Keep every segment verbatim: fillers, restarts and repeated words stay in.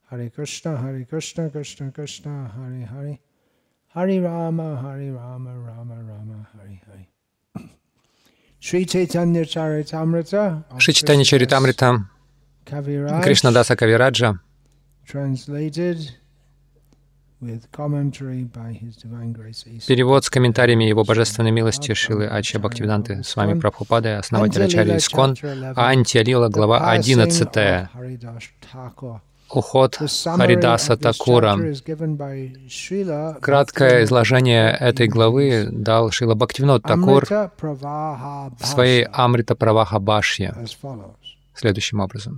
Hare Krishna, Hare Krishna, Krishna Krishna, Hare Hare, Hare Rama, Hare Rama, Rama Rama, Hare Hare. Шри Чайтанья Чаритамрита, Шри Чайтанья Чаритамрита Кришнадаса Кавираджа, перевод с комментариями Его Божественной милости Шрилы Ачарья Бхактивиданты Свами Прабхупады, основатель Ачарья Искон, Антия-лила, глава одиннадцатая. Уход Харидаса Такура. Краткое изложение этой главы дал Шрила Бхактивинод Такур в своей Амрита Праваха Башье следующим образом.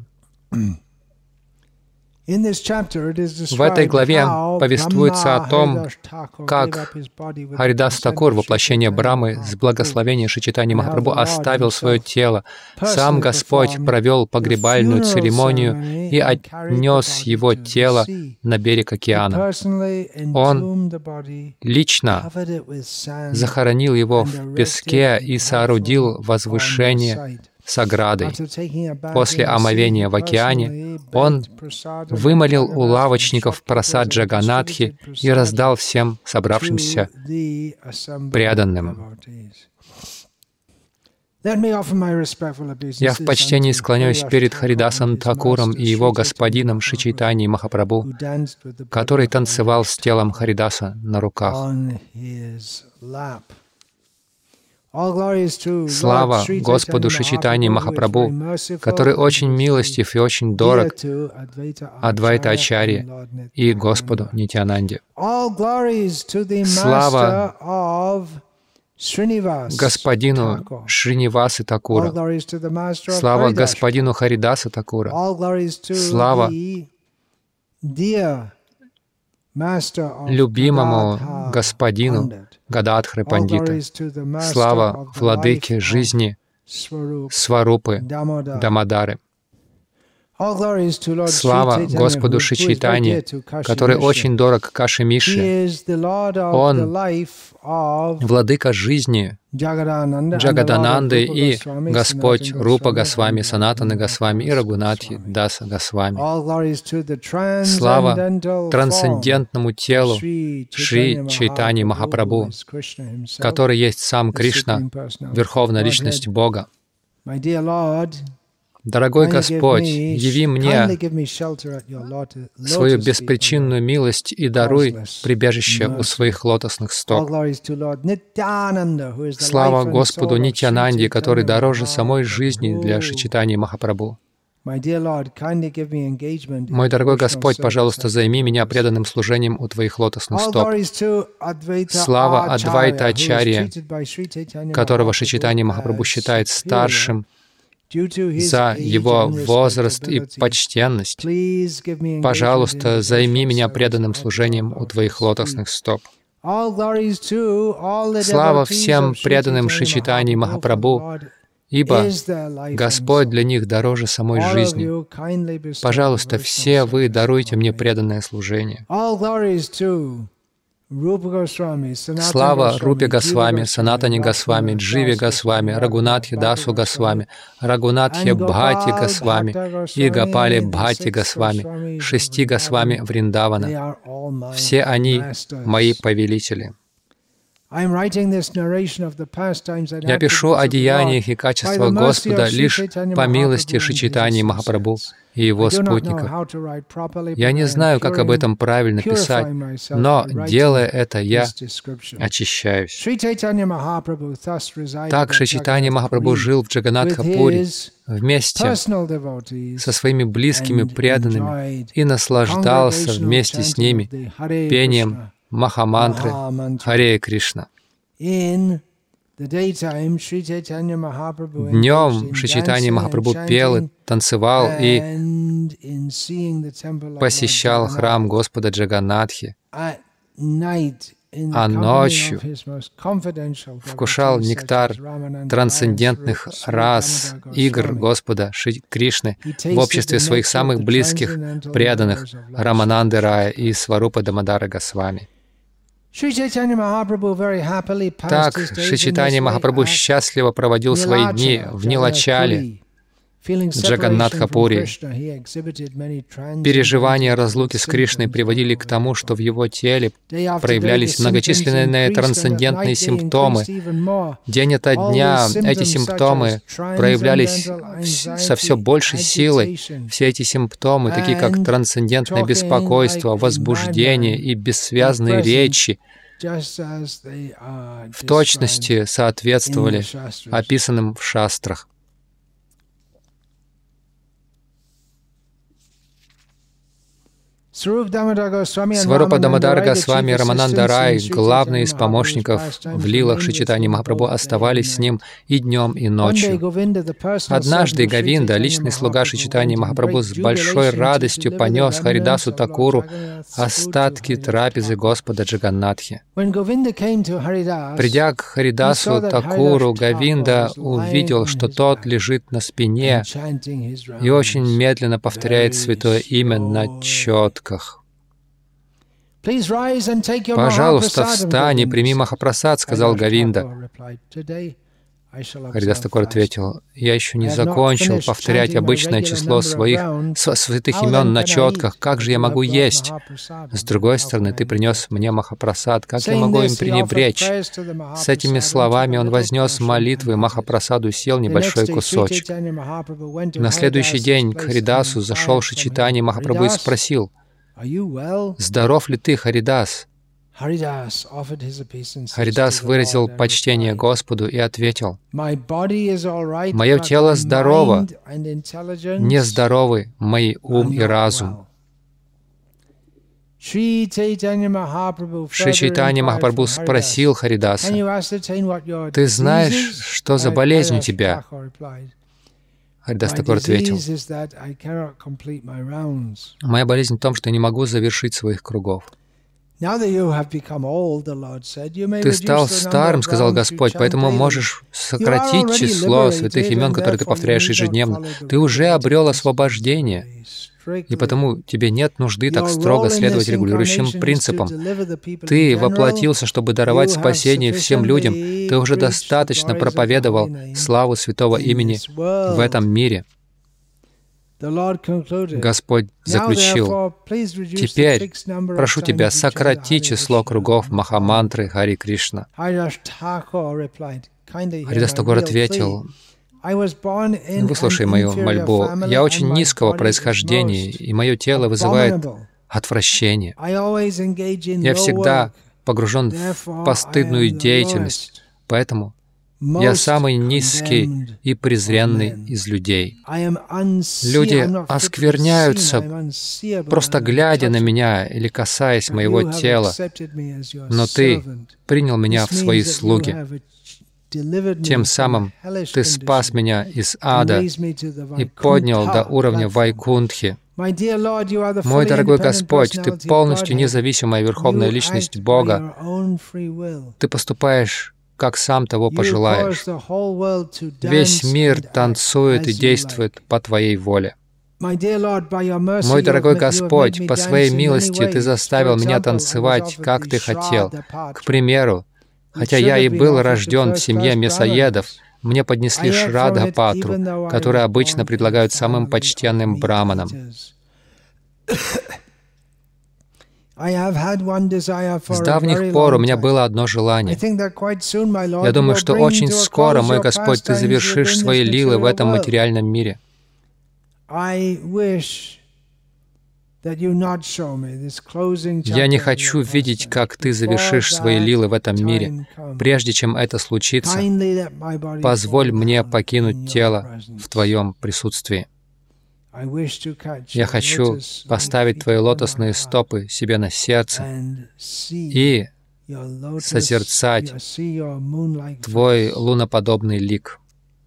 В этой главе повествуется о том, как Харидас Такур, воплощение Брамы, с благословения Шри Чайтаньи Махапрабху, оставил свое тело. Сам Господь провел погребальную церемонию и отнес его тело на берег океана. Он лично захоронил его в песке и соорудил возвышение с оградой. После омовения в океане он вымолил у лавочников прасад Джаганатхи и раздал всем собравшимся преданным. Я в почтении склоняюсь перед Харидасом Такуром и его господином Шри Чайтаньей Махапрабху, который танцевал с телом Харидаса на руках. Слава Господу Шри Чайтаньи Махапрабху, который очень милостив и очень дорог Адвайта Ачарье и Господу Нитьянанде. Слава Господину Шринивасы Такура. Слава Господину Харидаса Такура. Слава любимому Господину Гададхары Пандита. Слава Владыке жизни Сварупы Дамодары. Слава Господу Шри Чайтанье, который очень дорог Каши Миши. Он Владыка жизни Джагадананды и Господь Рупа Госвами, Санатаны Госвами и Рагунатхи Даса Госвами. Слава трансцендентному телу Шри Чайтаньи Махапрабху, который есть сам Кришна, Верховная Личность Бога. Дорогой Господь, яви мне свою беспричинную милость и даруй прибежище у своих лотосных стоп. Слава Господу Нитьянанде, который дороже самой жизни для Шри Чайтаньи Махапрабху. Мой дорогой Господь, пожалуйста, займи меня преданным служением у Твоих лотосных стоп. Слава Адвайта Ачарье, которого Шри Чайтанья Махапрабху считает старшим за его возраст и почтенность. Пожалуйста, займи меня преданным служением у Твоих лотосных стоп. Слава всем преданным Шри Чайтаньи Махапрабху, ибо Господь для них дороже самой жизни. Пожалуйста, все вы даруйте мне преданное служение. Слава Рупе Госвами, Санатане Госвами, Дживе Госвами, Рагунатхе Дасу Госвами, Рагунатхе Бхати Госвами и Гопале Бхати Госвами, шести Госвами Вриндавана. Все они мои повелители. Я пишу о деяниях и качествах Господа лишь по милости Шри Чайтаньи Махапрабху и его спутников. Я не знаю, как об этом правильно писать, но, делая это, я очищаюсь. Так Шри Чайтанья Махапрабху жил в Джаганатха-пури вместе со своими близкими преданными и наслаждался вместе с ними пением Махамантры Харе Кришна. Днем Шри Чайтанья Махапрабху пел и танцевал и посещал храм Господа Джаганатхи, а ночью вкушал нектар трансцендентных рас, игр Господа Шри Кришны в обществе своих самых близких преданных Рамананды Рая и Сварупа Дамодары Госвами. Так Шри Чайтанья Махапрабху счастливо проводил свои дни в Нилачале, Джаганнатха-пури. Переживания разлуки с Кришной приводили к тому, что в его теле проявлялись многочисленные трансцендентные симптомы. День ото дня эти симптомы проявлялись со все большей силой. Все эти симптомы, такие как трансцендентное беспокойство, возбуждение и бессвязные речи, в точности соответствовали описанным в шастрах. Сварупа Дамодар Госвами и Рамананда Рай, главные из помощников в лилах Шри Чайтаньи Махапрабху, оставались с ним и днем, и ночью. Однажды Говинда, личный слуга Шри Чайтаньи Махапрабху, с большой радостью понес Харидасу Такуру остатки трапезы Господа Джаганнатхи. Придя к Харидасу Такуру, Говинда увидел, что тот лежит на спине и очень медленно повторяет святое имя на четко. «Пожалуйста, встань и прими Махапрасад», — сказал Говинда. Харидас Такур ответил: «Я еще не закончил повторять обычное число своих святых имен на четках. Как же я могу есть? С другой стороны, ты принес мне Махапрасад. Как я могу им пренебречь?» С этими словами он вознес молитвы Махапрасаду и съел небольшой кусочек. На следующий день к Харидасу зашел Шри Чайтанья Махапрабху и спросил: «Здоров ли ты, Харидас?» Харидас выразил почтение Господу и ответил: «Мое тело здорово, нездоровы мои ум и разум». Шри Чайтанья Махапрабху спросил Харидаса: «Ты знаешь, что за болезнь у тебя?» Харидас Такур ответил: «Моя болезнь в том, что я не могу завершить своих кругов». «Ты стал старым, — сказал Господь, — поэтому можешь сократить число святых имен, которые ты повторяешь ежедневно. Ты уже обрел освобождение, и потому тебе нет нужды так строго следовать регулирующим принципам. Ты воплотился, чтобы даровать спасение всем людям. Ты уже достаточно проповедовал славу святого имени в этом мире». Господь заключил: «Теперь прошу тебя, сократи число кругов Махамантры Хари Кришна». Харидас Такур ответил: «Выслушай мою мольбу. Я очень низкого происхождения, и мое тело вызывает отвращение. Я всегда погружен в постыдную деятельность, поэтому я самый низкий и презренный из людей. Люди оскверняются, просто глядя на меня или касаясь моего тела, но Ты принял меня в свои слуги. Тем самым Ты спас меня из ада и поднял до уровня Вайкунтхи. Мой дорогой Господь, Ты полностью независимая Верховная Личность Бога. Ты поступаешь, как сам того пожелаешь. Весь мир танцует и действует по Твоей воле. Мой дорогой Господь, по Своей милости Ты заставил меня танцевать, как Ты хотел. К примеру, хотя я и был рожден в семье мясоедов, мне поднесли Шрадха-патру, которую обычно предлагают самым почтенным браманам. С давних пор у меня было одно желание. Я думаю, что очень скоро, мой Господь, Ты завершишь Свои лилы в этом материальном мире. Я не хочу видеть, как Ты завершишь Свои лилы в этом мире. Прежде чем это случится, позволь мне покинуть тело в Твоем присутствии. Я хочу поставить Твои лотосные стопы себе на сердце и созерцать Твой луноподобный лик.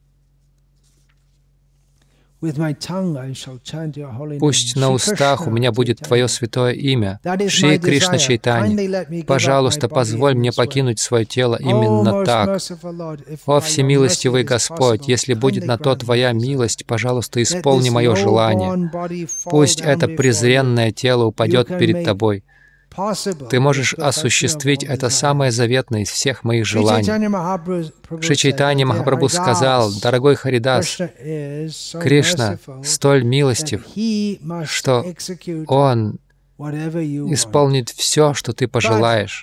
Пусть на устах у меня будет Твое святое имя, Шри Кришна Чайтанья. Пожалуйста, позволь мне покинуть свое тело именно так. О, всемилостивый Господь, если будет на то Твоя милость, пожалуйста, исполни мое желание. Пусть это презренное тело упадет перед Тобой. Ты можешь осуществить это самое заветное из всех моих желаний. Шри Чайтанья Махапрабху сказал: «Дорогой Харидас, Кришна столь милостив, что Он исполнит все, что ты пожелаешь.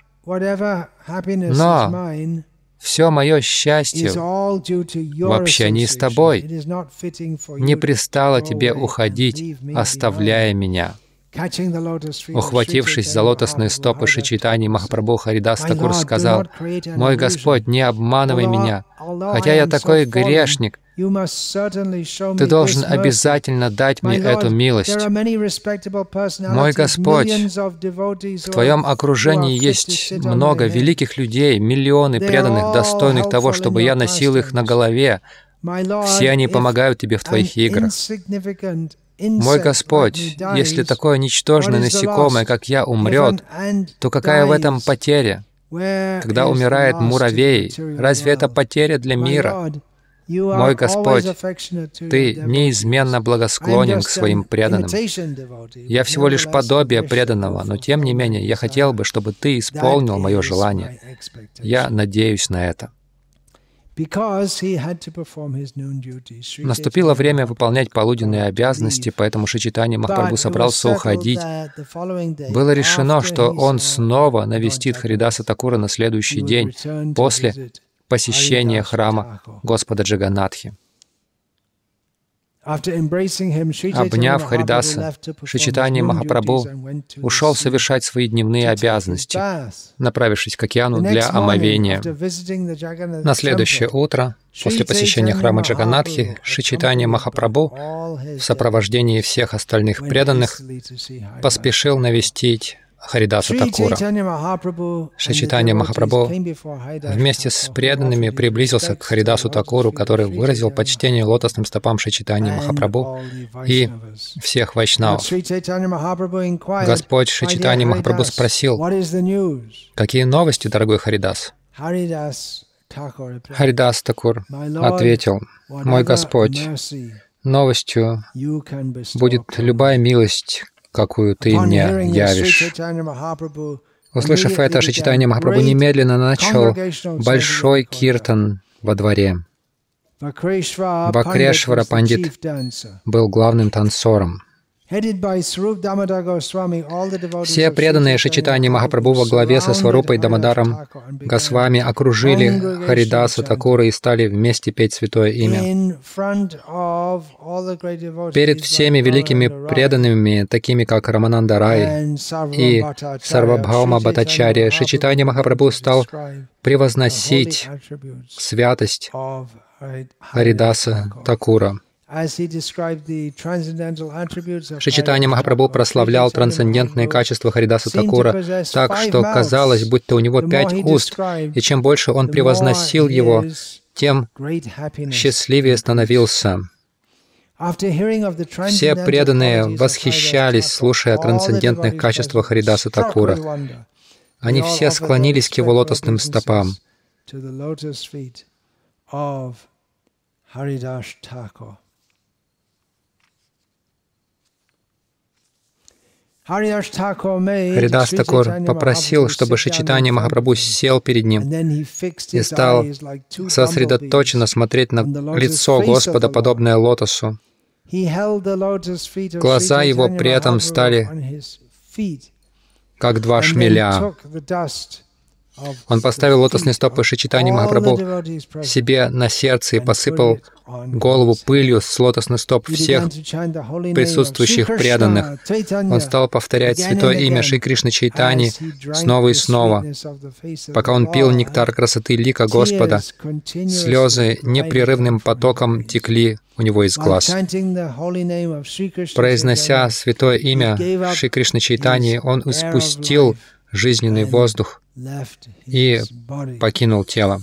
Но все мое счастье в общении с тобой. Не пристало тебе уходить, оставляя меня». Ухватившись за лотосные стопы Шри Чайтаньи Махапрабху, Харидас Такур сказал: «Мой Господь, не обманывай меня. Хотя я такой грешник, Ты должен обязательно дать мне эту милость. Мой Господь, в Твоем окружении есть много великих людей, миллионы преданных, достойных того, чтобы я носил их на голове. Все они помогают Тебе в Твоих играх. Мой Господь, если такое ничтожное насекомое, как я, умрет, то какая в этом потеря? Когда умирает муравей, разве это потеря для мира? Мой Господь, Ты неизменно благосклонен к своим преданным. Я всего лишь подобие преданного, но тем не менее я хотел бы, чтобы Ты исполнил мое желание. Я надеюсь на это. Наступило время выполнять полуденные обязанности, поэтому Шри Чайтанья Махапрабху собрался уходить. Было решено, что он снова навестит Харидаса Такура на следующий день, после посещения храма Господа Джаганнатхи. Обняв Харидаса, Шри Чайтанья Махапрабху ушел совершать свои дневные обязанности, направившись к океану для омовения. На следующее утро, после посещения храма Джаганнатхи, Шри Чайтанья Махапрабху в сопровождении всех остальных преданных поспешил навестить Харидаса Такура. Шри Чайтанья Махапрабху вместе с преданными приблизился к Харидасу Такуру, который выразил почтение лотосным стопам Шри Чайтаньи Махапрабху и всех вайшнавов. Господь Шри Чайтанья Махапрабху спросил: «Какие новости, дорогой Харидас?» Харидас Такур ответил: «Мой Господь, новостью будет любая милость, какую Ты мне явишь». Услышав это, Шри Чайтанья Махапрабху немедленно начал большой киртан во дворе. Бакрешвара Пандит был главным танцором. Все преданные Шри Чайтаньи Махапрабху во главе со Сварупой Дамодаром Госвами окружили Харидаса Такура и стали вместе петь святое имя. Перед всеми великими преданными, такими как Рамананда Рай и Сарвабхаума Бхаттачарья, Шри Чайтанья Махапрабху стал превозносить святость Харидаса Такура. Шри Чайтанья Махапрабху прославлял трансцендентные качества Харидаса Такура так, что казалось, будто у него пять уст, и чем больше он превозносил его, тем счастливее становился. Все преданные восхищались, слушая о трансцендентных качествах Харидаса Такура. Они все склонились к его лотосным стопам. Харидас Такур попросил, чтобы Шри Чайтанья Махапрабху сел перед ним и стал сосредоточенно смотреть на лицо Господа, подобное лотосу. Глаза его при этом стали как два шмеля. Он поставил лотосные стопы Шри Чайтаньи Махапрабху себе на сердце и посыпал голову пылью с лотосных стоп всех присутствующих преданных. Он стал повторять святое имя Шри Кришны Чайтаньи снова и снова. Пока он пил нектар красоты лика Господа, слезы непрерывным потоком текли у него из глаз. Произнося святое имя Шри Кришны Чайтаньи, он испустил жизненный воздух и покинул тело.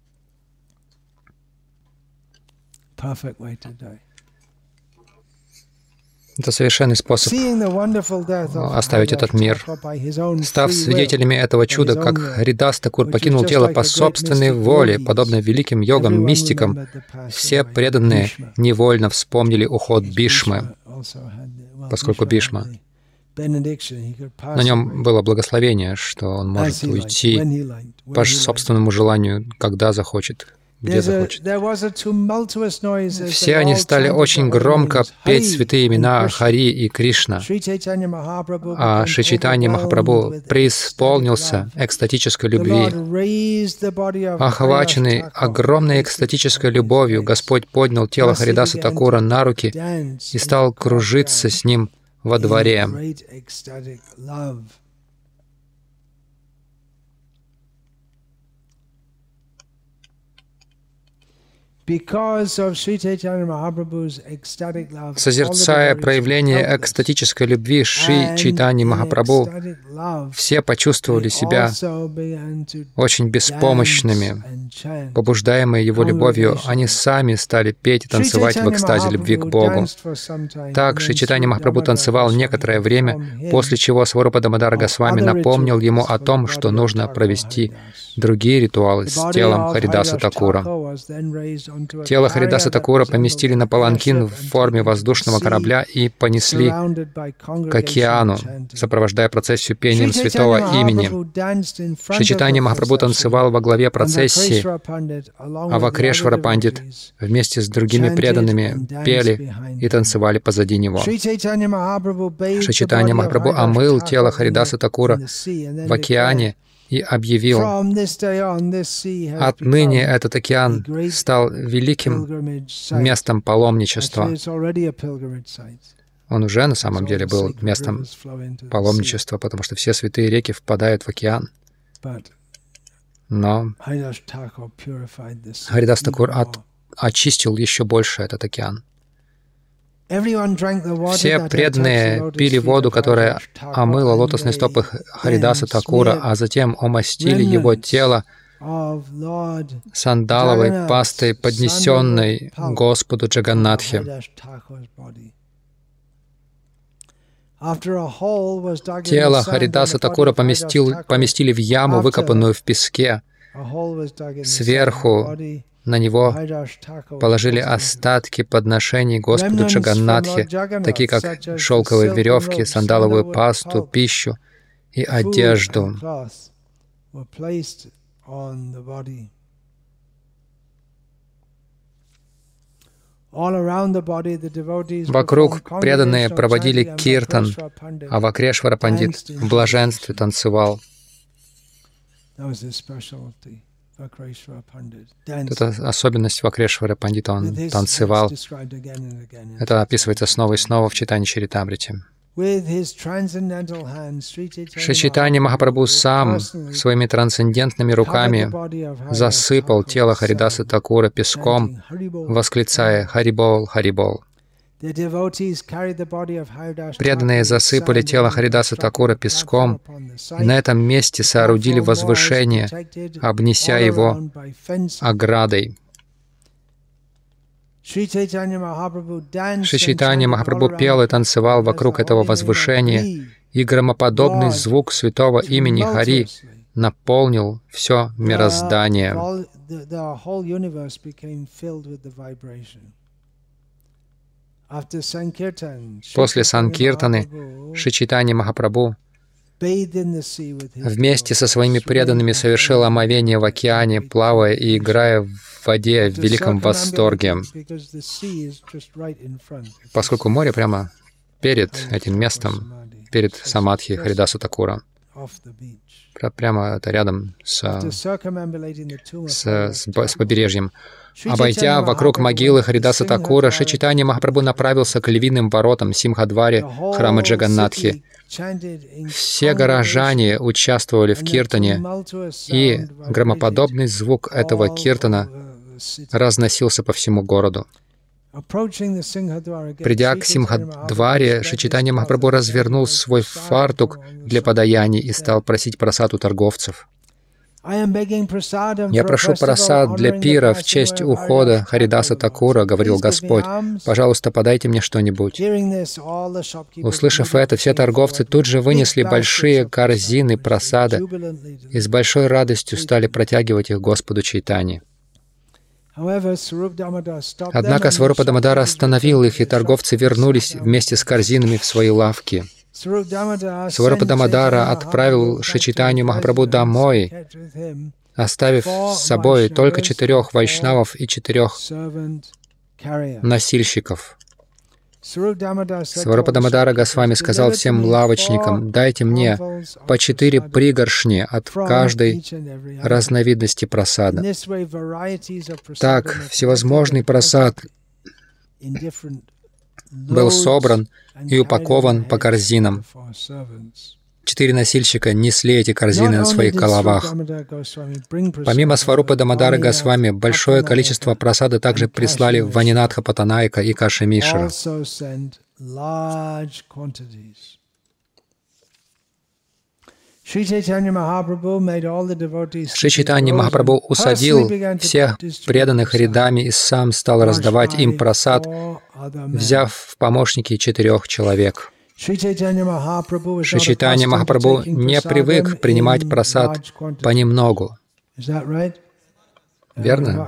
Это совершенный способ оставить этот мир. Став свидетелями этого чуда, как Харидас Такур покинул тело по собственной воле, подобно великим йогам, мистикам, все преданные невольно вспомнили уход Бхишмы, поскольку Бхишма На нем было благословение, что он может уйти по собственному желанию, когда захочет, где захочет. Все они стали очень громко петь святые имена Хари и Кришна, а Шри Чайтанья Махапрабху преисполнился экстатической любви. Охваченный огромной экстатической любовью, Господь поднял тело Харидаса Такура на руки и стал кружиться с ним во дворе. Созерцая проявление экстатической любви Шри Чайтаньи Махапрабху, все почувствовали себя очень беспомощными. Побуждаемые его любовью, они сами стали петь и танцевать в экстазе любви к Богу. Так Шри Чайтанья Махапрабху танцевал некоторое время, после чего Сварупа Дамодара Госвами напомнил ему о том, что нужно провести другие ритуалы с телом Харидаса Такура. Тело Харидаса Такура поместили на паланкин в форме воздушного корабля и понесли к океану, сопровождая процессию пением святого имени. Шри Чайтанья Махапрабху танцевал во главе процессии, а Вакрешвара Пандит вместе с другими преданными пели и танцевали позади него. Шри Чайтанья Махапрабху омыл тело Харидаса Такура в океане и объявил: «Отныне этот океан стал великим местом паломничества». Он уже на самом деле был местом паломничества, потому что все святые реки впадают в океан. Но Харидас Такур от, очистил еще больше этот океан. Все преданные пили воду, которая омыла лотосные стопы Харидаса Такура, а затем омастили его тело сандаловой пастой, поднесенной Господу Джаганнатхе. Тело Харидаса Такура поместил, поместили в яму, выкопанную в песке. Сверху на него положили остатки подношений Господу Джаганнатхе, такие как шелковые веревки, сандаловую пасту, пищу и одежду. Вокруг преданные проводили киртан, а Вакрешвара Пандит в блаженстве танцевал. Это особенность Вакрешвара Пандита, он танцевал. Это описывается снова и снова в Чайтанья Чаритамрите. Шри Чайтанья Махапрабху сам своими трансцендентными руками засыпал тело Харидаса Такура песком, восклицая «Харибол, Харибол». Преданные засыпали тело Харидаса Такура песком и на этом месте соорудили возвышение, обнеся его оградой. Шри Чайтанья Махапрабху пел и танцевал вокруг этого возвышения, и громоподобный звук святого имени Хари наполнил все мироздание. После Санкиртаны Шри Чайтанья Махапрабху вместе со своими преданными совершил омовение в океане, плавая и играя в воде в великом восторге, поскольку море прямо перед этим местом, перед Самадхи Харидаса Такура. Прямо это рядом с, с, с, с побережьем. Обойдя вокруг могилы Харидаса Такура, Шри Чайтанья Махапрабху направился к львиным воротам Симхадваре храма Джаганнатхи. Все горожане участвовали в киртане, и громоподобный звук этого киртана разносился по всему городу. Придя к Симхадваре, Шри Чайтанья Махапрабху развернул свой фартук для подаяний и стал просить просад у торговцев. «Я прошу просад для пира в честь ухода Харидаса Такура», — говорил Господь. «Пожалуйста, подайте мне что-нибудь». Услышав это, все торговцы тут же вынесли большие корзины просада и с большой радостью стали протягивать их Господу Чайтанье. Однако Сварупа Дамодара остановил их, и торговцы вернулись вместе с корзинами в свои лавки. Сварупа Дамодара отправил Шри Чайтанью Махапрабху домой, оставив с собой только четырех вайшнавов и четырех носильщиков. Сварупа Дамодара Госвами сказал всем лавочникам: «Дайте мне по четыре пригоршни от каждой разновидности прасада». Так, всевозможный прасад был собран и упакован по корзинам. Четыре носильщика несли эти корзины на своих головах. Помимо Сварупы Дамодары Госвами, большое количество прасада также прислали Ванинатха Патанайка и Каши Мишра. Шри Чайтанья Махапрабху усадил всех преданных рядами и сам стал раздавать им прасад, взяв в помощники четырех человек. Шри Чайтанья Махапрабху не привык принимать прасад понемногу. Верно?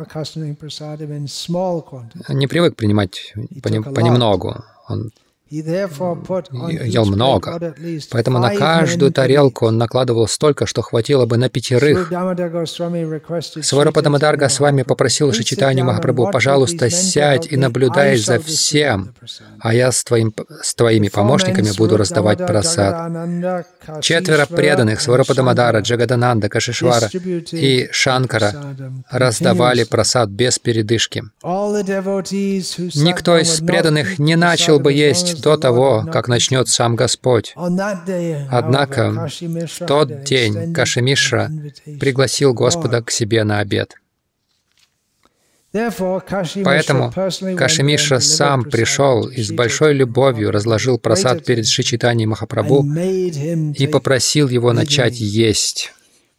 Не привык принимать понемногу. Он ел много, поэтому на каждую тарелку он накладывал столько, что хватило бы на пятерых. Сварупа Дамодар Госвами попросил Шри Чайтанью Махапрабху: «Пожалуйста, сядь и наблюдай за всем, а я с, твоим, с твоими помощниками буду раздавать прасад». Четверо преданных — Сварупа Дамодара, Джагадананда, Кашишвара и Шанкара — раздавали прасад без передышки. Никто из преданных не начал бы есть до того, как начнет сам Господь. Однако в тот день Каши Мишра пригласил Господа к себе на обед. Поэтому Каши Мишра сам пришел и с большой любовью разложил прасад перед Шри Чайтаньей Махапрабху и попросил его начать есть.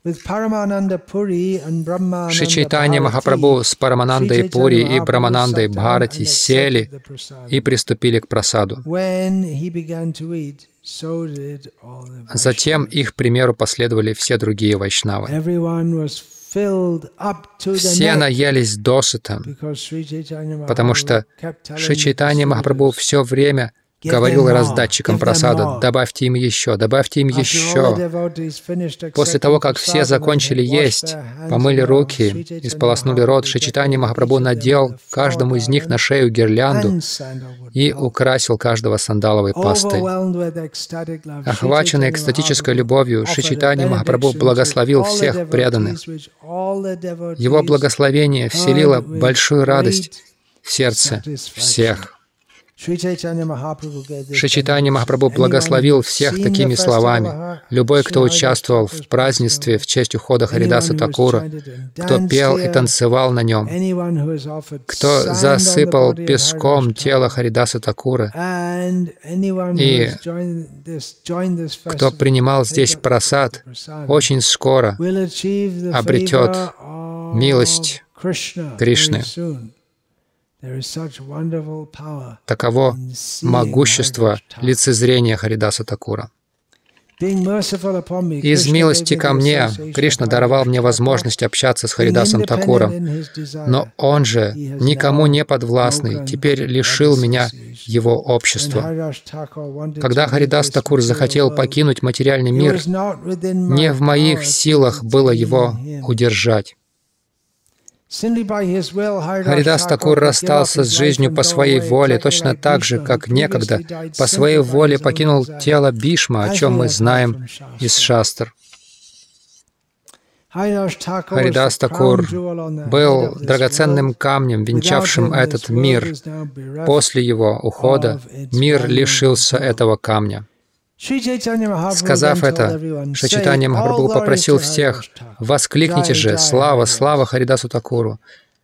Шри Чайтанья Махапрабху с Параманандой Пури и Браманандой Бхарати сели и приступили к прасаду. Затем их примеру последовали все другие вайшнавы. Все наелись досыта, потому что Шри Чайтанья Махапрабху все время говорил раздатчикам прасада: «Добавьте им еще, добавьте им еще». После того, как все закончили есть, помыли руки и сполоснули рот, Шри Чайтанья Махапрабху надел каждому из них на шею гирлянду и украсил каждого сандаловой пастой. Охваченный экстатической любовью, Шри Чайтанья Махапрабху благословил всех преданных. Его благословение вселило большую радость в сердце всех. Шри Чайтанья Махапрабху благословил всех такими словами: «Любой, кто участвовал в празднестве в честь ухода Харидаса Такура, кто пел и танцевал на нем, кто засыпал песком тело Харидаса Такура и кто принимал здесь прасад, очень скоро обретет милость Кришны». Таково могущество лицезрения Харидаса Такура. Из милости ко мне Кришна даровал мне возможность общаться с Харидасом Такуром, но Он же, никому не подвластный, теперь лишил меня Его общества. Когда Харидас Такур захотел покинуть материальный мир, не в моих силах было его удержать. Харидас Такур расстался с жизнью по своей воле, точно так же, как некогда по своей воле покинул тело Бишма, о чем мы знаем из шастр. Харидас Такур был драгоценным камнем, венчавшим этот мир. После его ухода мир лишился этого камня. Сказав это, Шри Чайтанья Махапрабху попросил всех: «Воскликните же «Слава, слава Харидасу Такуру!»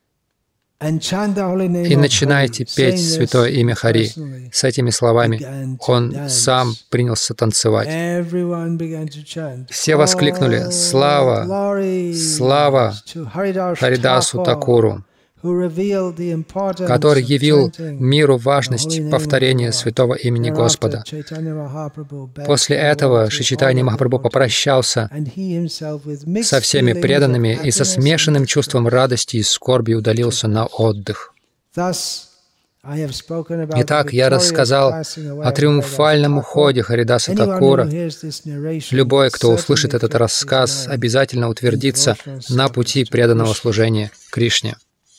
и начинайте петь святое имя Хари». С этими словами он сам принялся танцевать. Все воскликнули: «Слава, слава Харидасу Такуру», который явил миру важность повторения святого имени Господа. После этого Шри Чайтанья Махапрабху попрощался со всеми преданными и со смешанным чувством радости и скорби удалился на отдых. Итак, я рассказал о триумфальном уходе Харидаса Такура. Любой, кто услышит этот рассказ, обязательно утвердится на пути преданного служения Кришне.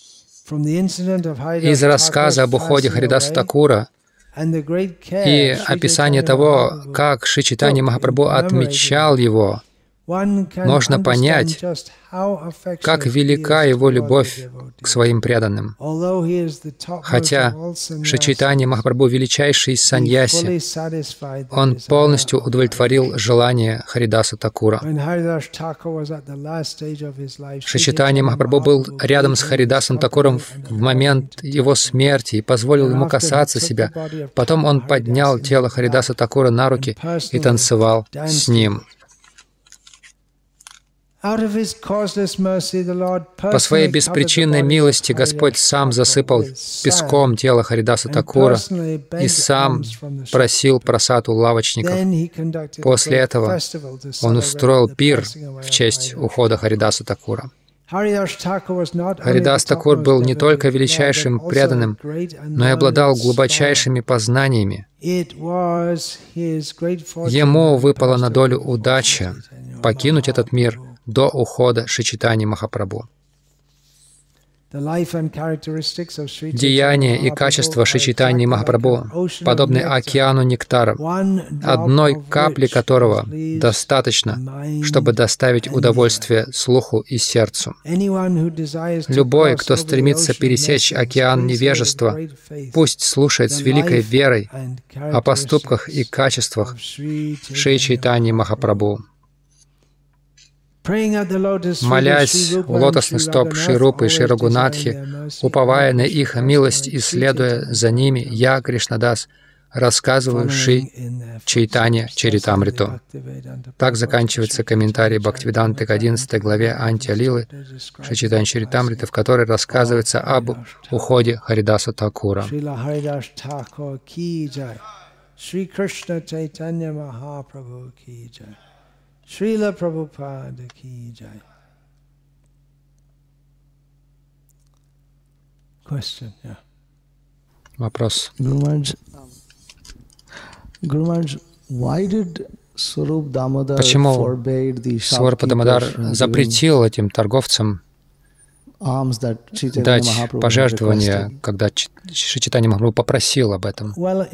Из рассказа об уходе Харидаса Такура и описания того, как Шри Чайтанья Махапрабху отмечал его, можно понять, как велика его любовь к своим преданным. Хотя Шри Чайтанья Махапрабху величайший из саньяси, он полностью удовлетворил желание Харидаса Такура. Шри Чайтанья Махапрабху был рядом с Харидасом Такуром в момент его смерти и позволил ему касаться себя. Потом он поднял тело Харидаса Такура на руки и танцевал с ним. По своей беспричинной милости Господь сам засыпал песком тело Харидаса Такура и сам просил просад у лавочников. После этого он устроил пир в честь ухода Харидаса Такура. Харидас Такур был не только величайшим преданным, но и обладал глубочайшими познаниями. Ему выпала на долю удача покинуть этот мир до ухода Шри Чайтаньи Махапрабху. Деяния и качества Шри Чайтаньи Махапрабху подобны океану нектара, одной капли которого достаточно, чтобы доставить удовольствие слуху и сердцу. Любой, кто стремится пересечь океан невежества, пусть слушает с великой верой о поступках и качествах Шри Чайтаньи Махапрабху. Молясь у лотосных стоп Шри Рупы и Шри Рагунатхи, уповая на их милость и следуя за ними, я, Кришнадас, рассказываю Шри Чайтанья Чаритамриту. Так заканчивается комментарий Бхактивиданты к одиннадцатой главе Антья-лилы Шри Чайтанья Чаритамриты, в которой рассказывается об уходе Харидаса Такура. Srila Prabhupada ki jai. Question, yeah. Вопрос. Guru Maharaj, Guru Maharaj, why did Swarup Damodar Почему forbade the Сварупа Дамодар запретил этим торговцам дать пожертвования, когда Шри Чайтанья Махапрабху попросил об этом?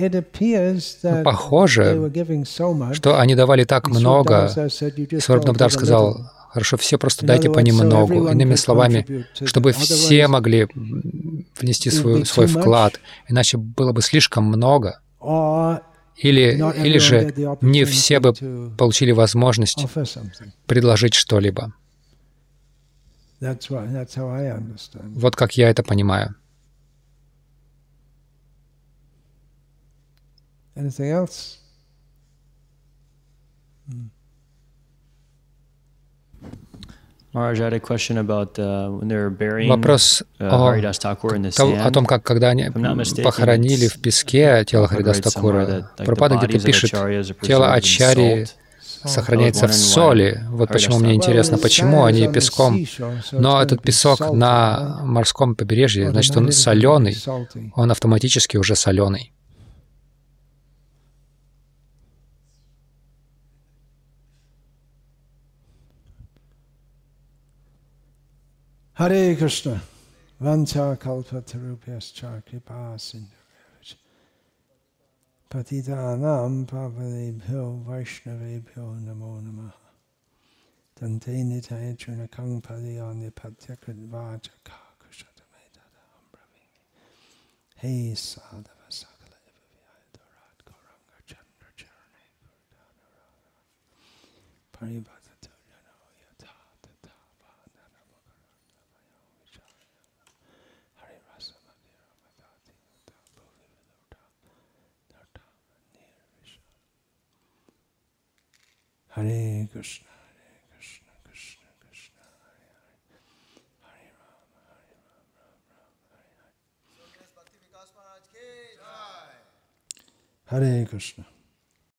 Похоже, что они давали так много. Сварупа Дамодар сказал: хорошо, все просто дайте понемногу. Иными словами, чтобы все могли внести свой, свой вклад, иначе было бы слишком много. Или, или же не все бы получили возможность предложить что-либо. Вот как я это понимаю. Вопрос о, о том, как когда они похоронили в песке тело Харидаса Такура. Прабхупада где-то пишет, тело Ачарьи сохраняется в соли. Вот почему мне интересно, почему они песком. Но этот песок на морском побережье, значит, он соленый, он автоматически уже соленый. Харе Кришна, ванча калпатарубhyасча крипа синдхубhyасча Patitanam pavanebhyo vaishnavebhyo namo namaha Tante nitaya chunakang padiyani patyakridvacha kakushatamedadam bravimi Hey sadhava sakala evavyayadarat gauranga chandra charane gurdanarara Paribhatato yano yata tata bhadanamakarandavayo vicharayana Hari rasa madhira madhati yata bhuvi viluta Hare Krishna, Hare Krishna, Krishna Krishna, Hare Hare, Hare Rama, Hare Rama, Rama Rama, Hare Hare. Hare Krishna.